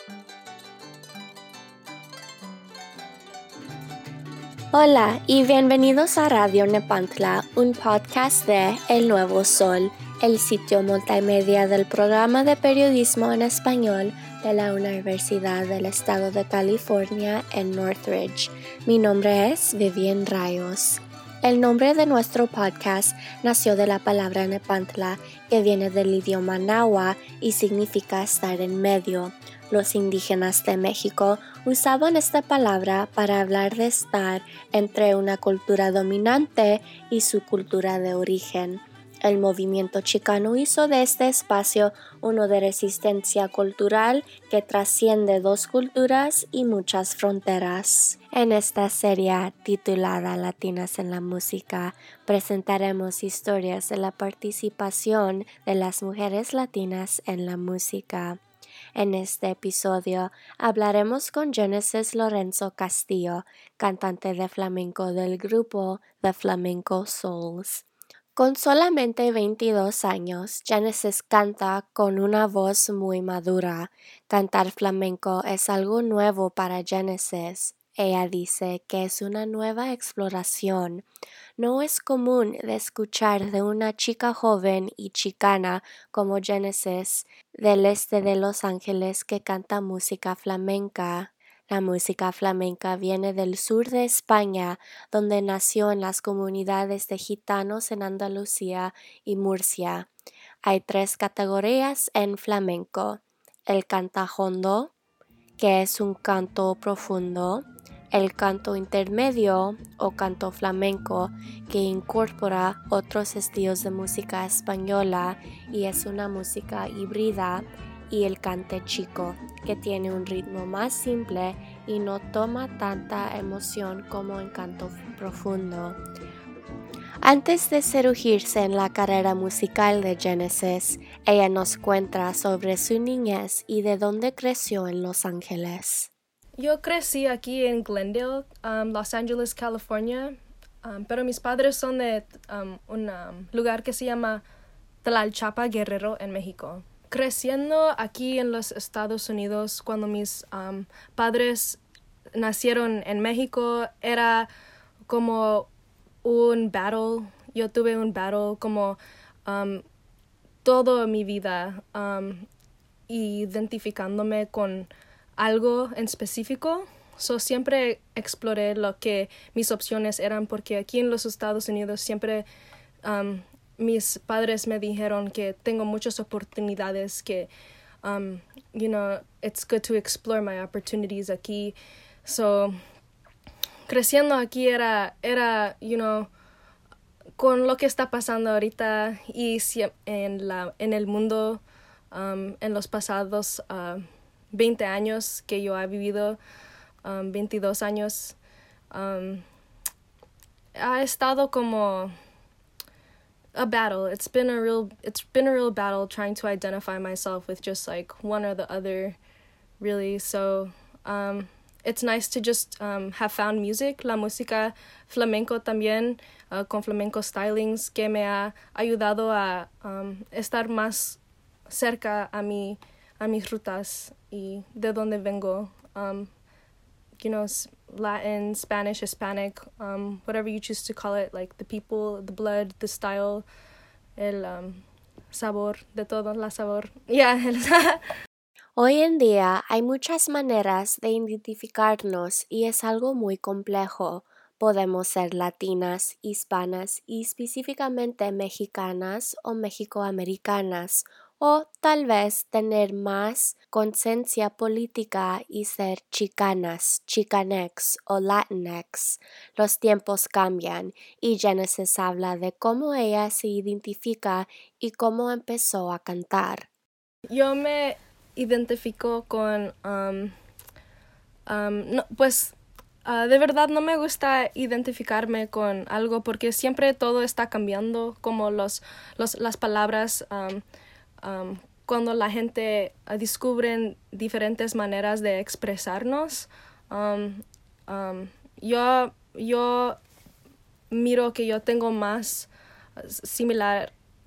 Hola y bienvenidos a Radio Nepantla, un podcast de El Nuevo Sol, el sitio multimedia del programa de periodismo en español de la Universidad del Estado de California en Northridge. Mi nombre es Vivian Rayos. El nombre de nuestro podcast nació de la palabra Nepantla, que viene del idioma náhuatl y significa estar en medio. Los indígenas de México usaban esta palabra para hablar de estar entre una cultura dominante y su cultura de origen. El movimiento chicano hizo de este espacio uno de resistencia cultural que trasciende dos culturas y muchas fronteras. En esta serie titulada Latinas en la Música, presentaremos historias de la participación de las mujeres latinas en la música. En este episodio hablaremos con Genesis Lorenzo Castillo, cantante de flamenco del grupo The Flamenco Souls. Con solamente 22 años, Genesis canta con una voz muy madura. Cantar flamenco es algo nuevo para Genesis. Ella dice que es una nueva exploración. No es común de escuchar de una chica joven y chicana como Genesis del este de Los Ángeles que canta música flamenca. La música flamenca viene del sur de España, donde nació en las comunidades de gitanos en Andalucía y Murcia. Hay 3 categorías en flamenco: el cantajondo, que es un canto profundo; el canto intermedio o canto flamenco, que incorpora otros estilos de música española y es una música híbrida; y el cante chico, que tiene un ritmo más simple y no toma tanta emoción como en canto profundo. Antes de sumergirse en la carrera musical de Genesis, ella nos cuenta sobre su niñez y de dónde creció en Los Ángeles. Yo crecí aquí en Glendale, Los Ángeles, California, pero mis padres son de un lugar que se llama Tlalchapa, Guerrero, en México. Creciendo aquí en los Estados Unidos, cuando mis padres nacieron en México, era como un battle. Yo tuve un battle como toda mi vida, identificándome con algo en específico. Siempre exploré lo que mis opciones eran, porque aquí en los Estados Unidos siempre mis padres me dijeron que tengo muchas oportunidades, que it's good to explore my opportunities aquí. Creciendo aquí era con lo que está pasando ahorita y en el mundo, en los pasados 20 años que yo he vivido, 22 años, ha estado como a battle. It's been a real battle trying to identify myself with just like one or the other, really. So it's nice to just have found music, la música flamenco también, con flamenco stylings, que me ha ayudado a estar más cerca a mis rutas y de donde vengo. Latin, Spanish, Hispanic, whatever you choose to call it, like the people, the blood, the style, el sabor, de todo, la sabor. Yeah. Hoy en día hay muchas maneras de identificarnos y es algo muy complejo. Podemos ser latinas, hispanas y específicamente mexicanas o mexicoamericanas, o tal vez tener más conciencia política y ser chicanas, chicanex o latinx. Los tiempos cambian y Genesis habla de cómo ella se identifica y cómo empezó a cantar. Yo me identifico con de verdad no me gusta identificarme con algo, porque siempre todo está cambiando, como las palabras, cuando la gente descubre diferentes maneras de expresarnos. Yo miro que yo tengo más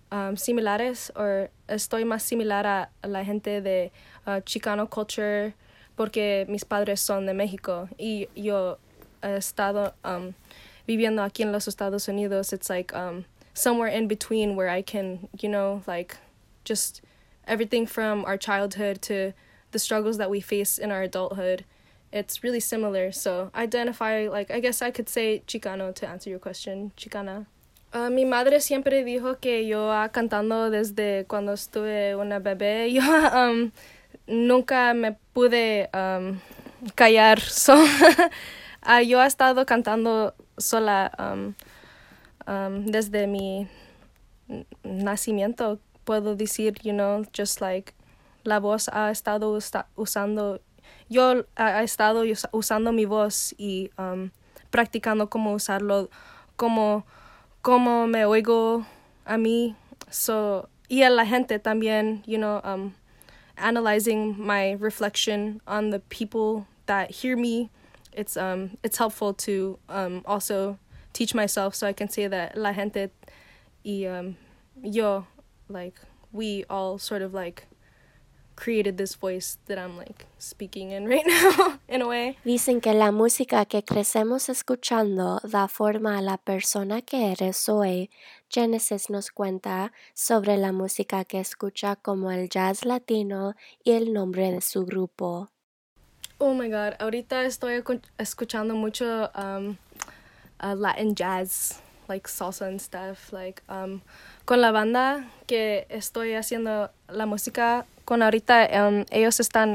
similares, o estoy más similar a la gente de Chicano culture, porque mis padres son de México y yo he estado viviendo aquí en los Estados Unidos. It's like somewhere in between where I can, like just everything from our childhood to the struggles that we face in our adulthood. It's really similar. So I identify, like, I guess I could say Chicano to answer your question, Chicana. Mi madre siempre dijo que yo cantando desde cuando estuve una bebé. Yo nunca me pude callar. So, yo he estado cantando sola desde mi nacimiento. Puedo decir, just like la voz ha estado usando. Yo he estado usando mi voz y practicando cómo usarlo, cómo me oigo a mí. So, y a la gente también, analyzing my reflection on the people that hear me. It's helpful to also teach myself so I can say that la gente y yo, like, we all sort of like created this voice that I'm like speaking in right now in a way. Dicen que la música que crecemos escuchando da forma a la persona que eres hoy. Genesis nos cuenta sobre la música que escucha como el jazz latino y el nombre de su grupo. Oh my God, ahorita estoy escuchando mucho Latin jazz, like salsa and stuff, like con la banda que estoy haciendo la música con ahorita, ellos están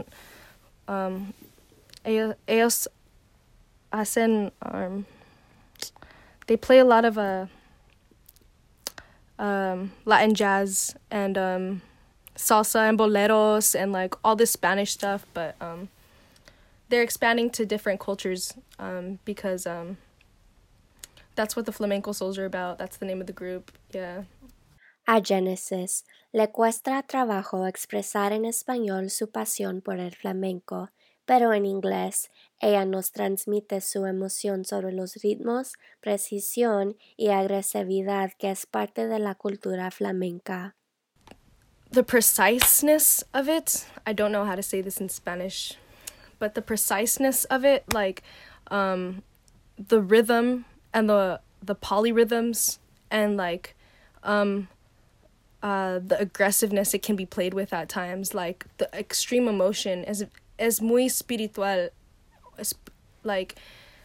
ellos hacen they play a lot of Latin jazz and salsa and boleros and like all this Spanish stuff, but they're expanding to different cultures because that's what the Flamenco Souls are about. That's the name of the group. Yeah. A Genesis le cuesta trabajo expresar en español su pasión por el flamenco, pero en inglés ella nos transmite su emoción sobre los ritmos, precisión y agresividad que es parte de la cultura flamenca. The preciseness of it, I don't know how to say this in Spanish, but the preciseness of it, like the rhythm and the polyrhythms and like the aggressiveness it can be played with at times, like the extreme emotion is muy espiritual. It's like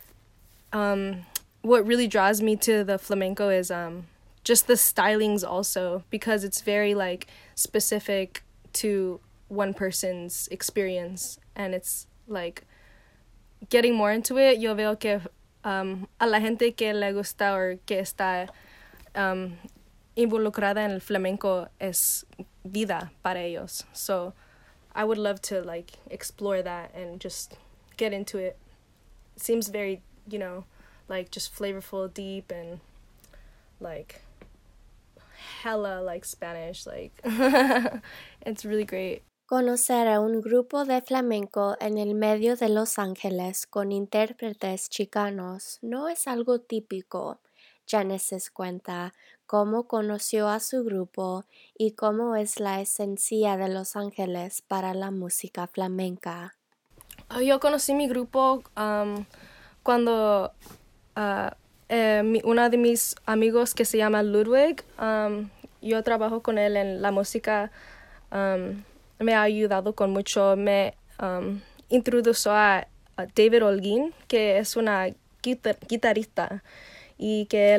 what really draws me to the flamenco is just the stylings also, because it's very like specific to one person's experience, and it's like getting more into it. Yo veo que a la gente que le gusta or que está involucrada en el flamenco es vida para ellos. So I would love to like explore that and just get into it. It seems very, like just flavorful, deep, and like hella like Spanish, like it's really great. Conocer a un grupo de flamenco en el medio de Los Ángeles con intérpretes chicanos no es algo típico. Genesis cuenta cómo conoció a su grupo y cómo es la esencia de Los Ángeles para la música flamenca. Yo conocí mi grupo cuando uno de mis amigos que se llama Ludwig, yo trabajo con él en la música, me ha ayudado con mucho. Me introdujo a David Holguín, que es una guitarrista, y que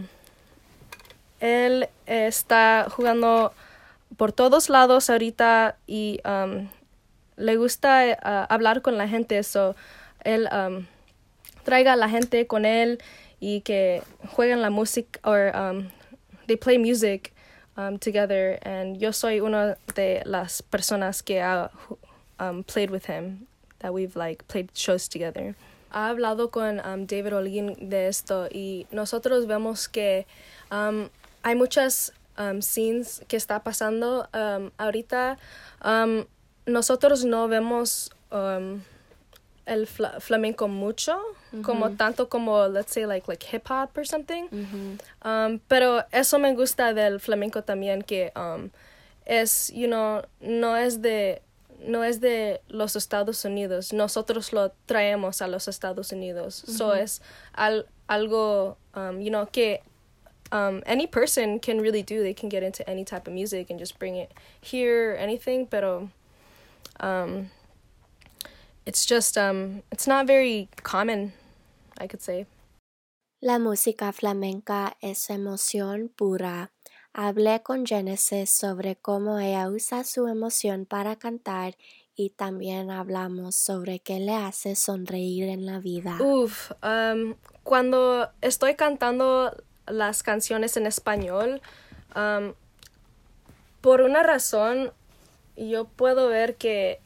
él está jugando por todos lados ahorita y le gusta hablar con la gente, so él traiga a la gente con él y que jueguen la música, or they play music together, and yo soy una de las personas que ha played with him, that we've like played shows together. Ha hablado con David Holguín de esto, y nosotros vemos que hay muchas scenes que está pasando ahorita. Nosotros no vemos el flamenco mucho, como tanto como, let's say, like hip hop or something. Pero eso me gusta del flamenco también, que es, no es de no es de los Estados Unidos. Nosotros lo traemos a los Estados Unidos. Mm-hmm. So es algo, que any person can really do. They can get into any type of music and just bring it here or anything. Pero it's just, it's not very common, I could say. La música flamenca es emoción pura. Hablé con Genesis sobre cómo ella usa su emoción para cantar y también hablamos sobre qué le hace sonreír en la vida. Cuando estoy cantando las canciones en español, por una razón, yo puedo ver que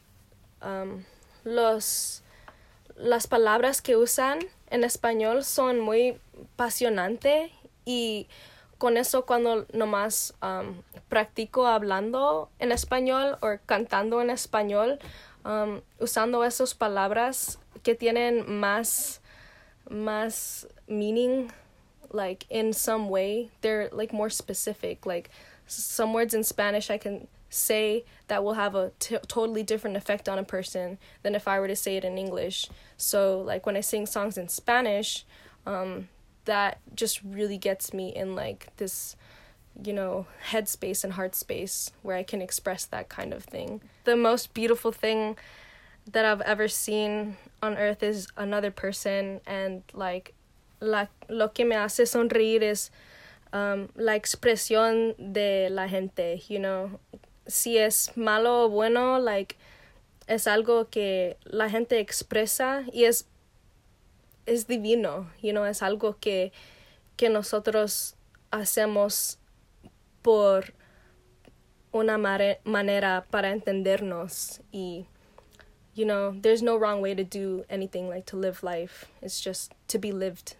las palabras que usan en español son muy apasionantes y con eso cuando nomás practico hablando en español o cantando en español, usando esas palabras que tienen más meaning, like in some way, they're like more specific. Like some words in Spanish I can say that will have a totally different effect on a person than if I were to say it in English. So like when I sing songs in Spanish, that just really gets me in like this, headspace and heart space where I can express that kind of thing. The most beautiful thing that I've ever seen on earth is another person, and like lo que me hace sonreír es la expresión de la gente, Si es malo o bueno, like es algo que la gente expresa y es divino, es algo que nosotros hacemos por una manera para entendernos y, there's no wrong way to do anything, like to live life. It's just to be lived.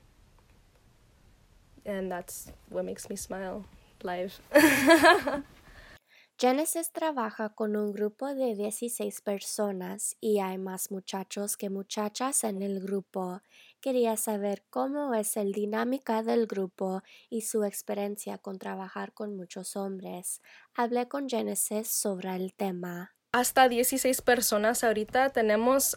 And that's what makes me smile, live. Genesis trabaja con un grupo de 16 personas y hay más muchachos que muchachas en el grupo. Quería saber cómo es la dinámica del grupo y su experiencia con trabajar con muchos hombres. Hablé con Genesis sobre el tema. Hasta 16 personas ahorita tenemos,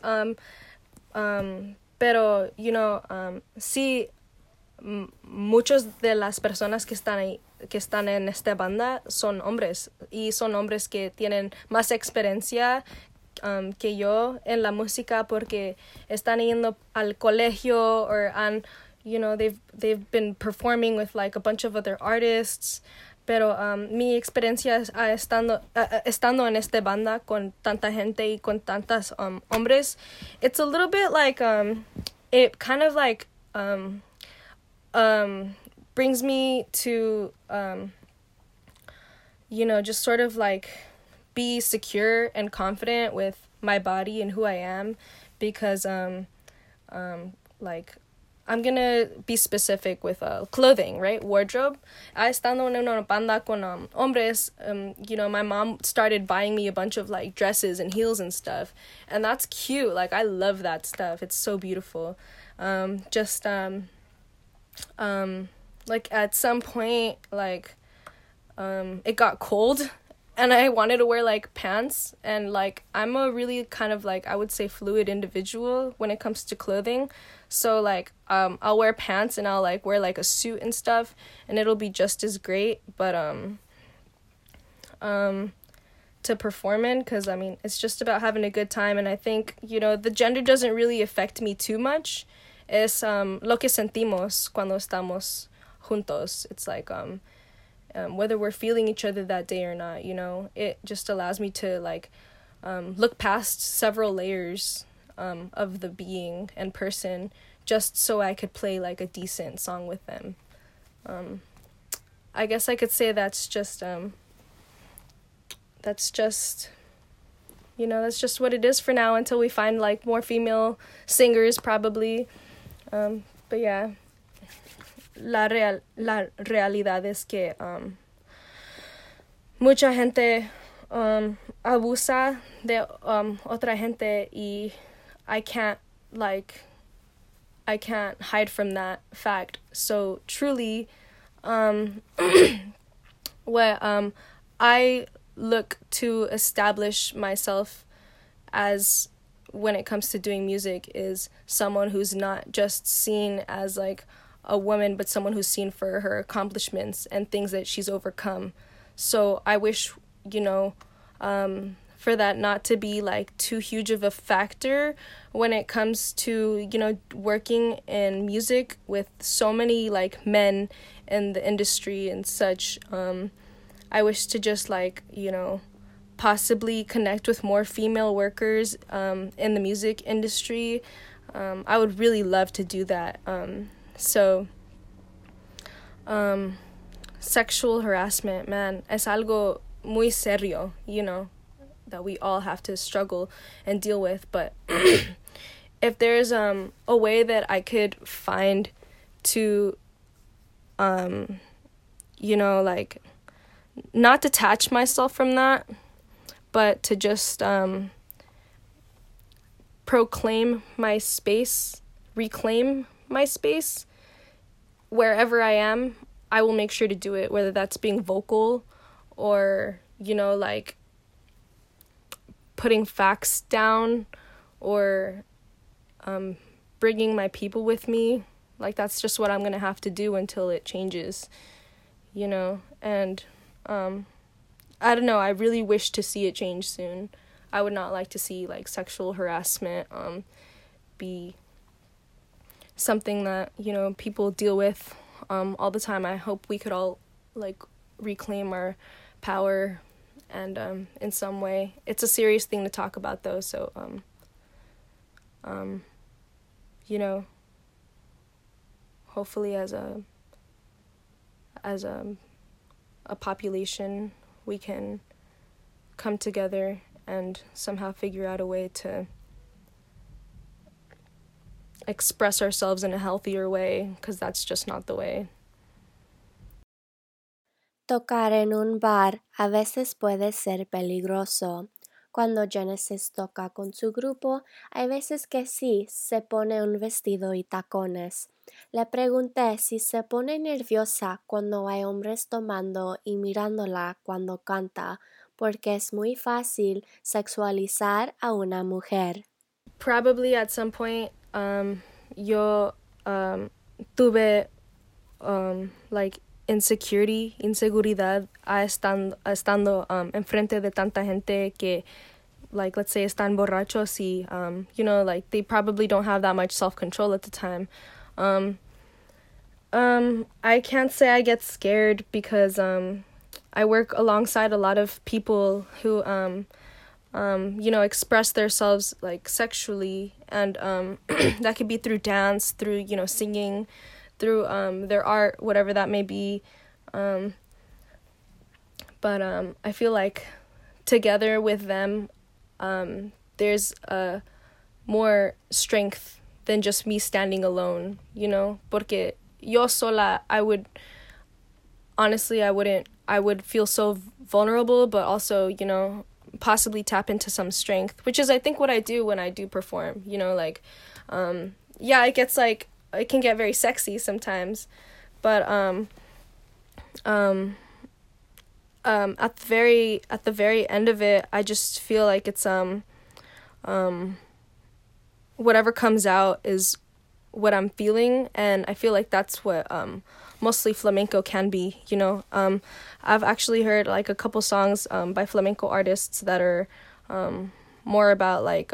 pero, sí, muchos de las personas que están en esta banda son hombres y son hombres que tienen más experiencia que yo en la música porque están yendo al colegio or they've been performing with like a bunch of other artists. Pero mi experiencia estando en esta banda con tanta gente y con tantos hombres, it's a little bit like it kind of like brings me to, just sort of like be secure and confident with my body and who I am because, like, I'm gonna be specific with clothing, right? Wardrobe. Estando en una banda con hombres, my mom started buying me a bunch of like dresses and heels and stuff, and that's cute. Like I love that stuff. It's so beautiful. Like at some point, like, it got cold and I wanted to wear like pants, and like I'm a really kind of like, I would say, fluid individual when it comes to clothing. So like, I'll wear pants and I'll like wear like a suit and stuff and it'll be just as great, but, to perform in, because I mean, it's just about having a good time. And I think, the gender doesn't really affect me too much. Es, lo que sentimos cuando estamos juntos. It's like whether we're feeling each other that day or not, it just allows me to like look past several layers of the being and person just so I could play like a decent song with them. I guess I could say that's just what it is for now until we find like more female singers probably. But yeah, la realidad es que mucha gente abusa de otra gente y I can't hide from that fact. So truly, what I look to establish myself as, when it comes to doing music, is someone who's not just seen as like a woman, but someone who's seen for her accomplishments and things that she's overcome. So I wish, for that not to be like too huge of a factor when it comes to, working in music with so many like men in the industry and such. I wish to just like, possibly connect with more female workers in the music industry. I would really love to do that. Sexual harassment, man, es algo muy serio, that we all have to struggle and deal with. But if there's a way that I could find to, like, not detach myself from that, but to just reclaim my space wherever I am, I will make sure to do it, whether that's being vocal or, like putting facts down or bringing my people with me. Like, that's just what I'm going to have to do until it changes, and I don't know, I really wish to see it change soon. I would not like to see, like, sexual harassment be something that, people deal with all the time. I hope we could all, like, reclaim our power and in some way. It's a serious thing to talk about, though, so, hopefully as a population, we can come together and somehow figure out a way to express ourselves in a healthier way, because that's just not the way. Tocar en un bar a veces puede ser peligroso. Cuando Genesis toca con su grupo, hay veces que sí se pone un vestido y tacones. Le pregunté si se pone nerviosa cuando hay hombres tomando y mirándola cuando canta, porque es muy fácil sexualizar a una mujer. Probably at some point, yo tuve like inseguridad estando enfrente de tanta gente que, like, let's say están borrachos y like they probably don't have that much self-control at the time. I can't say I get scared because I work alongside a lot of people who express themselves like sexually, and that could be through dance, through singing, through their art, whatever that may be. But I feel like together with them, there's more strength than just me standing alone, porque yo sola, I would feel so vulnerable, but also, possibly tap into some strength, which is, I think, what I do when I do perform, it gets like, it can get very sexy sometimes, but at the very end of it, I just feel like it's whatever comes out is what I'm feeling, and I feel like that's what mostly flamenco can be. I've actually heard like a couple songs by flamenco artists that are more about like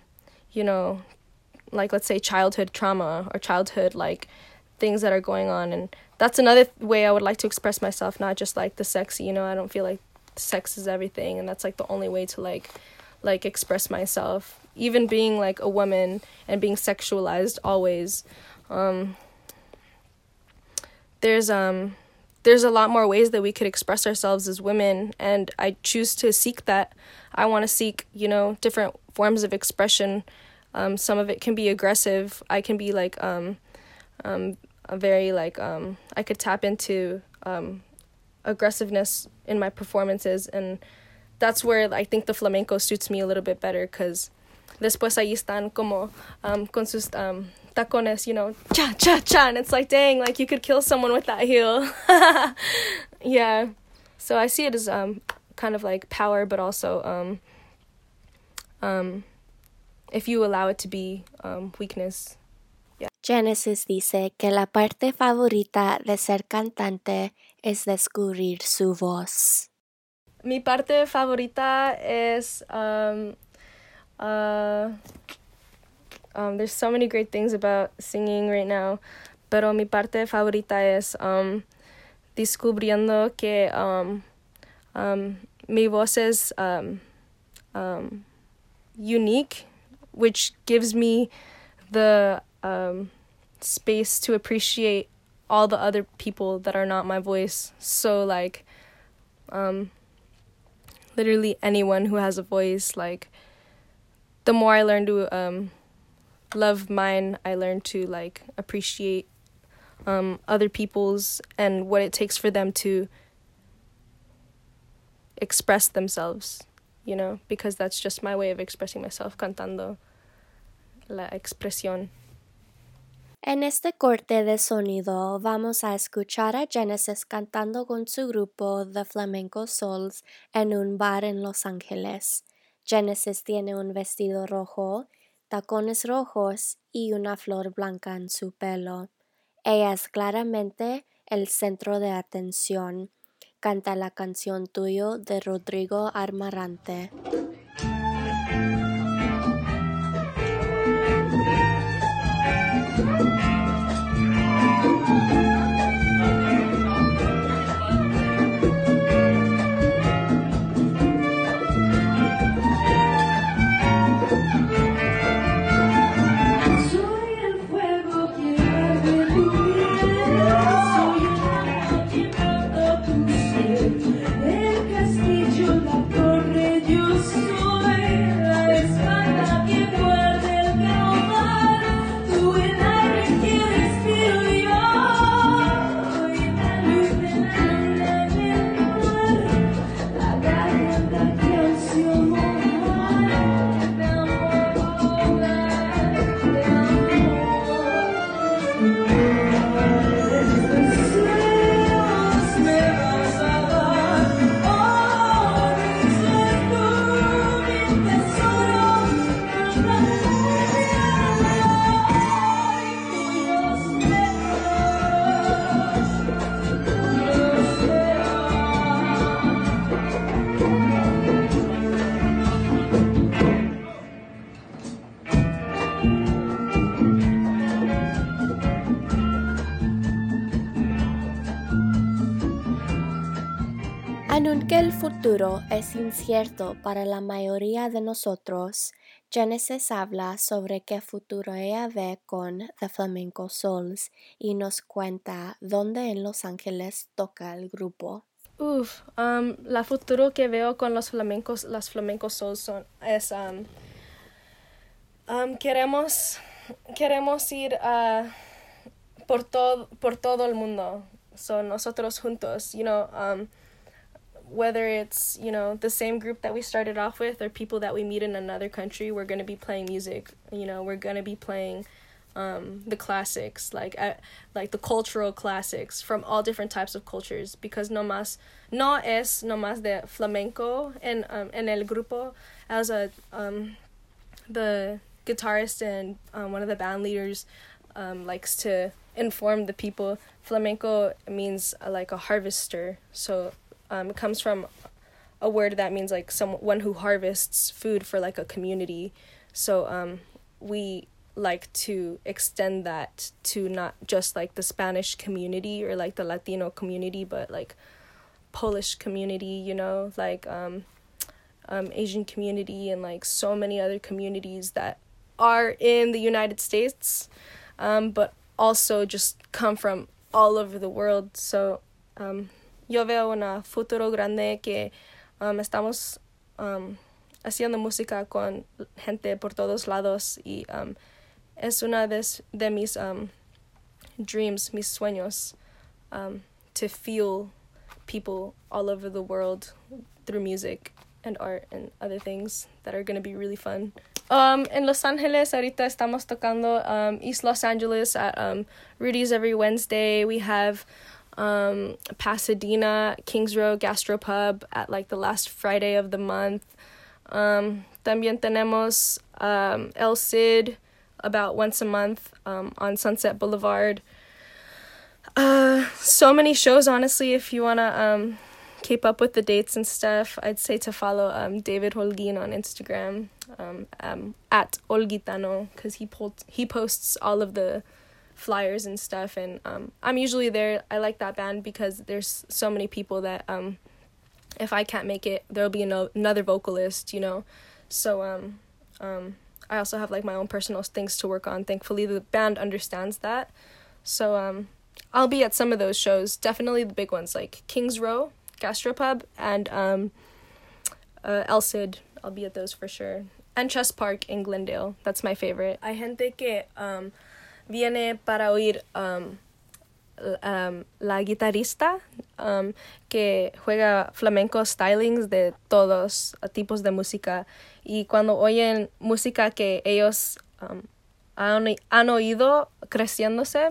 like, let's say, childhood trauma or childhood like things that are going on, and that's another way I would like to express myself, not just like the sexy. I don't feel like sex is everything, and that's like the only way to like express myself, even being like a woman and being sexualized always. There's a lot more ways that we could express ourselves as women, and I choose to seek that. I want to seek different forms of expression. Some of it can be aggressive. I can be like a very like I could tap into aggressiveness in my performances, and that's where I think the flamenco suits me a little bit better, because después ahí están como con sus tacones, cha cha cha, and it's like, dang, like you could kill someone with that heel. Yeah, so I see it as kind of like power, but also if you allow it to be weakness. Yeah. Genesis dice que la parte favorita de ser cantante es descubrir su voz. Mi parte favorita es there's so many great things about singing right now, pero mi parte favorita es descubriendo que mi voz es unique, which gives me the space to appreciate all the other people that are not my voice. So like literally anyone who has a voice, like the more I learn to love mine, I learn to like appreciate other people's and what it takes for them to express themselves, you know, because that's just my way of expressing myself, cantando, la expresión. En este corte de sonido vamos a escuchar a Genesis cantando con su grupo The Flamenco Souls en un bar en Los Ángeles. Genesis tiene un vestido rojo, tacones rojos y una flor blanca en su pelo. Ella es claramente el centro de atención. Canta la canción Tuyo de Rodrigo Amarante. Aunque el futuro es incierto para la mayoría de nosotros, Genesis habla sobre qué futuro ella ve con The Flamenco Souls y nos cuenta dónde en Los Ángeles toca el grupo. La futuro que veo con las Flamenco Souls es queremos ir por todo el mundo. Son nosotros juntos, you know, whether it's, you know, the same group that we started off with or people that we meet in another country, we're going to be playing music, you know, we're going to be playing the classics, like the cultural classics from all different types of cultures, because no es nomás de flamenco en el grupo. As the guitarist and one of the band leaders likes to inform the people, flamenco means like a harvester, so it comes from a word that means like someone who harvests food for like a community. So we like to extend that to not just like the Spanish community or like the Latino community, but like Polish community, you know, like Asian community and like so many other communities that are in the United States, but also just come from all over the world. So yo veo un futuro grande que estamos haciendo música con gente por todos lados y es una de mis dreams, mis sueños, to feel people all over the world through music and art and other things that are going to be really fun. En Los Ángeles ahorita estamos tocando East Los Angeles at Rudy's every Wednesday. We have Pasadena, Kings Row Gastropub at like the last Friday of the month. También tenemos El Cid about once a month on Sunset Boulevard. So many shows, honestly. If you want to keep up with the dates and stuff, I'd say to follow David Holguin on Instagram, at Olguitano, because he posts all of the flyers and stuff, and I'm usually there. I like that band because there's so many people that if I can't make it, there'll be another vocalist, you know. So I also have like my own personal things to work on. Thankfully, the band understands that. So I'll be at some of those shows. Definitely the big ones like Kings Row Gastropub and El Cid. I'll be at those for sure. And Chess Park in Glendale. That's my favorite. Hay gente que viene para oír la guitarrista que juega flamenco stylings de todos tipos de música, y cuando oyen música que ellos han oído creciéndose,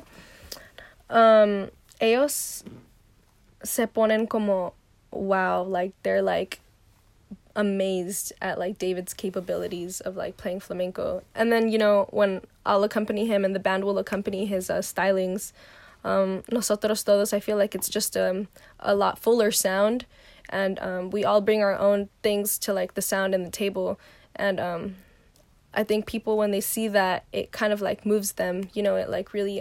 ellos se ponen como wow, like they're like amazed at like David's capabilities of like playing flamenco. And then, you know, when I'll accompany him and the band will accompany his stylings, Nosotros Todos, I feel like it's just a lot fuller sound, and we all bring our own things to like the sound and the table, and I think people, when they see that, it kind of like moves them, you know. It like really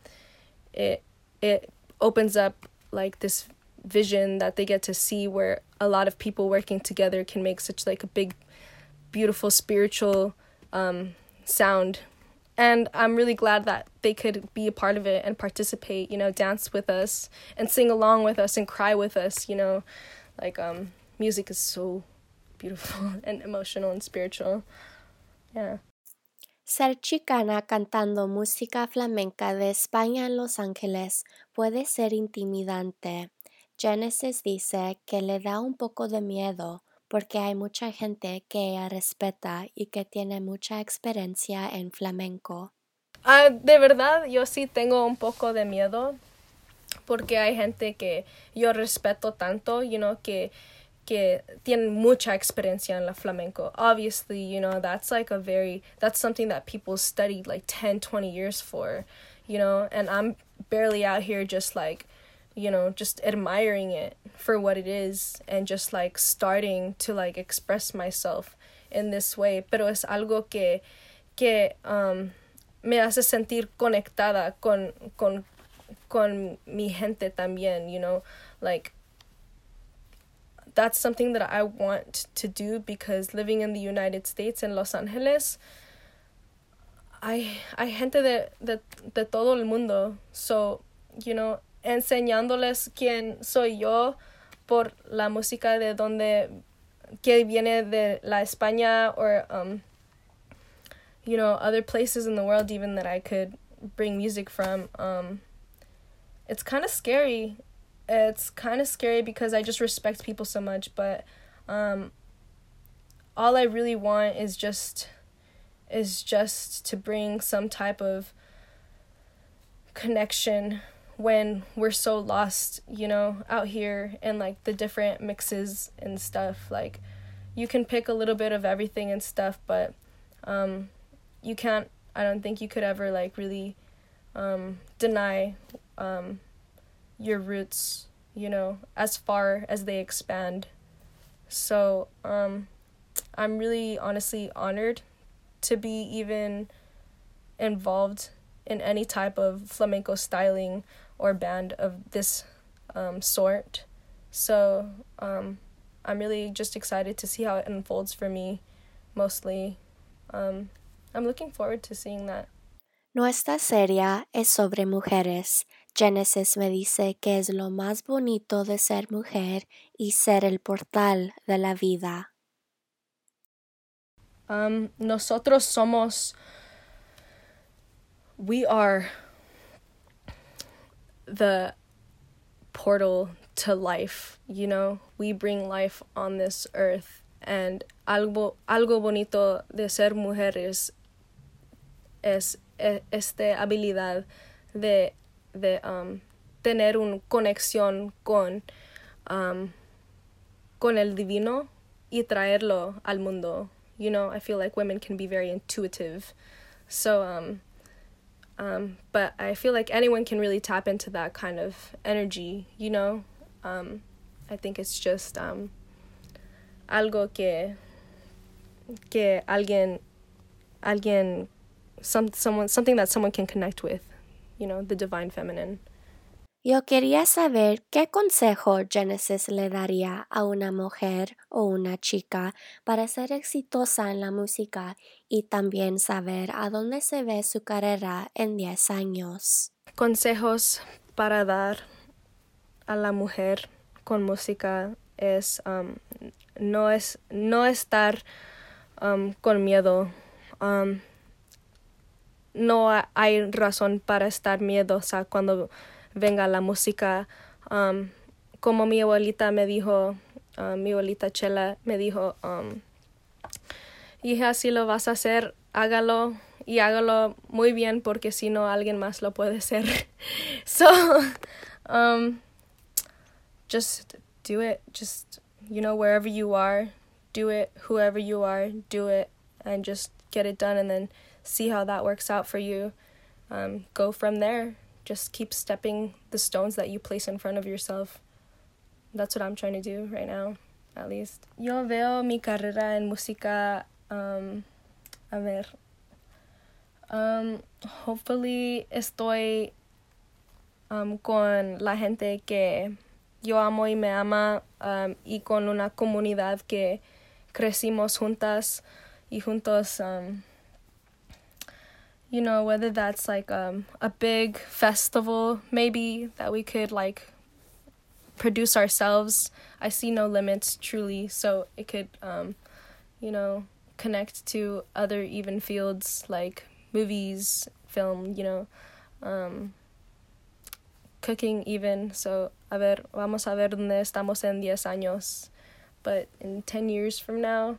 it opens up like this vision that they get to see where a lot of people working together can make such like a big, beautiful, spiritual sound. And I'm really glad that they could be a part of it and participate, you know, dance with us and sing along with us and cry with us, you know. Like music is so beautiful and emotional and spiritual. Yeah. Ser chicana cantando música flamenca de España en Los Ángeles puede ser intimidante. Genesis dice que le da un poco de miedo porque hay mucha gente que ella respeta y que tiene mucha experiencia en flamenco. De verdad, yo sí tengo un poco de miedo porque hay gente que yo respeto tanto, you know, que tienen mucha experiencia en la flamenco. Obviously, you know, that's something that people studied like 10, 20 years for, you know, and I'm barely out here just like, you know, just admiring it for what it is and just like starting to like express myself in this way. Pero es algo que me hace sentir conectada con mi gente también, you know, like that's something that I want to do, because living in the United States, in Los Angeles, hay gente de todo el mundo. So, you know, enseñándoles quién soy yo por la música de donde, que viene de la España, or, you know, other places in the world even that I could bring music from. It's kind of scary. It's kind of scary because I just respect people so much, but all I really want is just to bring some type of connection when we're so lost, you know, out here, and like the different mixes and stuff. Like, you can pick a little bit of everything and stuff, but you can't, I don't think you could ever like really deny your roots, you know, as far as they expand. So I'm really honestly honored to be even involved in any type of flamenco styling or band of this sort. So I'm really just excited to see how it unfolds for me, mostly. I'm looking forward to seeing that. Nuestra serie es sobre mujeres. Genesis me dice que es lo más bonito de ser mujer y ser el portal de la vida. Nosotros somos, we are the portal to life, you know. We bring life on this earth, and algo bonito de ser mujeres es esta habilidad de tener una conexión con el divino y traerlo al mundo. You know, I feel like women can be very intuitive. So, but I feel like anyone can really tap into that kind of energy, you know? I think it's just algo que something that someone can connect with, you know, the divine feminine. Yo quería saber qué consejo Genesis le daría a una mujer o una chica para ser exitosa en la música y también saber a dónde se ve su carrera en 10 años. Consejos para dar a la mujer con música es no estar con miedo. No hay razón para estar miedosa cuando venga la música. Como mi abuelita me dijo, mi abuelita Chela me dijo, hija, si lo vas a hacer, hágalo y hágalo muy bien porque si no alguien más lo puede hacer. So, just do it. Just, you know, wherever you are, do it. Whoever you are, do it, and just get it done and then see how that works out for you. Go from there. Just keep stepping the stones that you place in front of yourself. That's what I'm trying to do right now, at least. Yo veo mi carrera en música, hopefully estoy con la gente que yo amo y me ama, y con una comunidad que crecimos juntas y juntos. You know, whether that's like a big festival maybe that we could like produce ourselves. I see no limits truly, so it could you know, connect to other even fields like movies, film, you know, cooking even. So vamos a ver dónde estamos en 10 años, but in 10 years from now,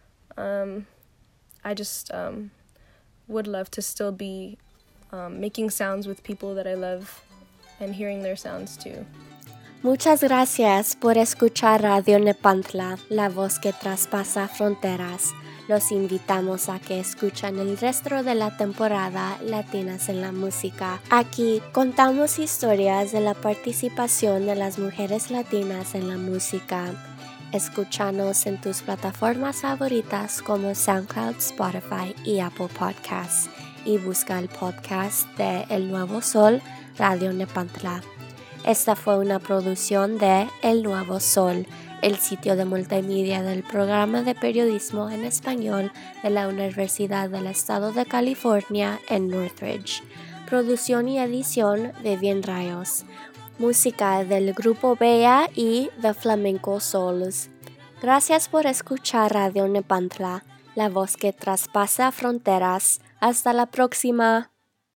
I just would love to still be making sounds with people that I love and hearing their sounds too. Muchas gracias por escuchar Radio Nepantla, la voz que traspasa fronteras. Los invitamos a que escuchen el resto de la temporada Latinas en la Música. Aquí contamos historias de la participación de las mujeres latinas en la música. Escúchanos en tus plataformas favoritas como SoundCloud, Spotify y Apple Podcasts. Y busca el podcast de El Nuevo Sol, Radio Nepantla. Esta fue una producción de El Nuevo Sol, el sitio de multimedia del programa de periodismo en español de la Universidad del Estado de California en Northridge. Producción y edición de Vivian Rayos. Música del grupo Bella y The Flamenco Souls. Gracias por escuchar Radio Nepantla, la voz que traspasa fronteras. Hasta la próxima.